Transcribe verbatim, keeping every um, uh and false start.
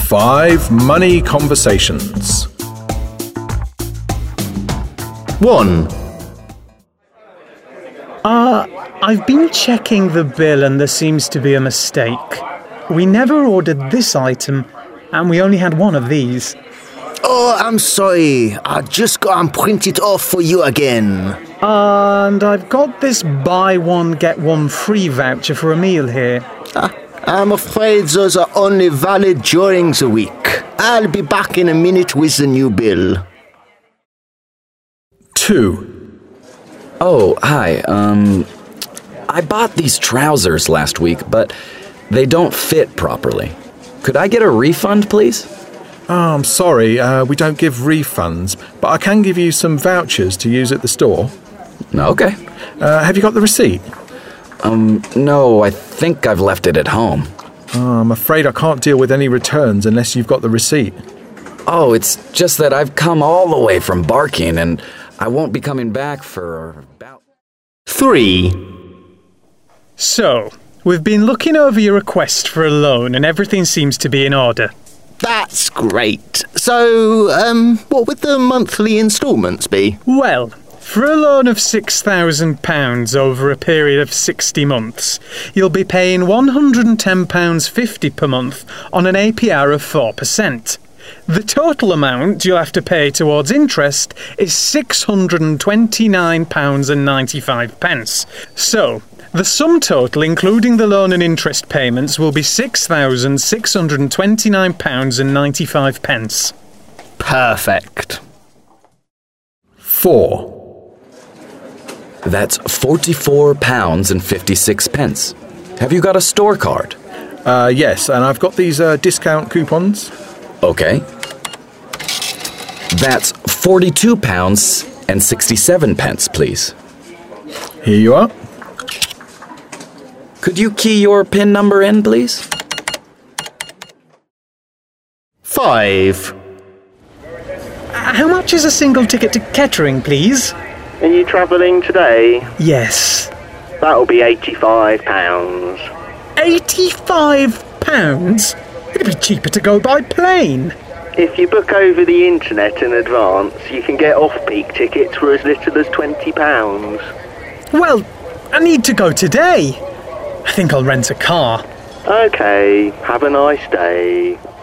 Five money conversations. One. Uh, I've been checking the bill and there seems to be a mistake. We never ordered this item, and we only had one of these. Oh, I'm sorry. I just got and print it off for you again. And I've got this buy one, get one free voucher for a meal here. Ah, I'm afraid those are only valid during the week. I'll be back in a minute with the new bill. Two. Oh, hi. Um, I bought these trousers last week, but they don't fit properly. Could I get a refund, please? Oh, I'm sorry, uh, we don't give refunds, but I can give you some vouchers to use at the store. Okay. Uh, have you got the receipt? Um, no, I think I've left it at home. Oh, I'm afraid I can't deal with any returns unless you've got the receipt. Oh, it's just that I've come all the way from Barking, and I won't be coming back for about... Three. So, we've been looking over your request for a loan and everything seems to be in order. That's great. So, um, what would the monthly instalments be? Well, for a loan of six thousand pounds over a period of sixty months, you'll be paying one hundred and ten pounds fifty per month on an A P R of four percent. The total amount you'll have to pay towards interest is six hundred and twenty-nine pounds ninety-five. So, the sum total, including the loan and interest payments, will be six thousand six hundred and twenty-nine pounds ninety-five. Perfect. Four. That's forty-four pounds and fifty-six pence. Have you got a store card? Uh, yes, and I've got these uh, discount coupons. Okay. That's forty-two pounds and sixty-seven pence, please. Here you are. Could you key your PIN number in, please? Five. How much is a single ticket to Kettering, please? Are you travelling today? Yes. That'll be eighty-five pounds. eighty-five pounds? It'd be cheaper to go by plane. If you book over the internet in advance, you can get off-peak tickets for as little as twenty pounds. Well, I need to go today. I think I'll rent a car. Okay, have a nice day.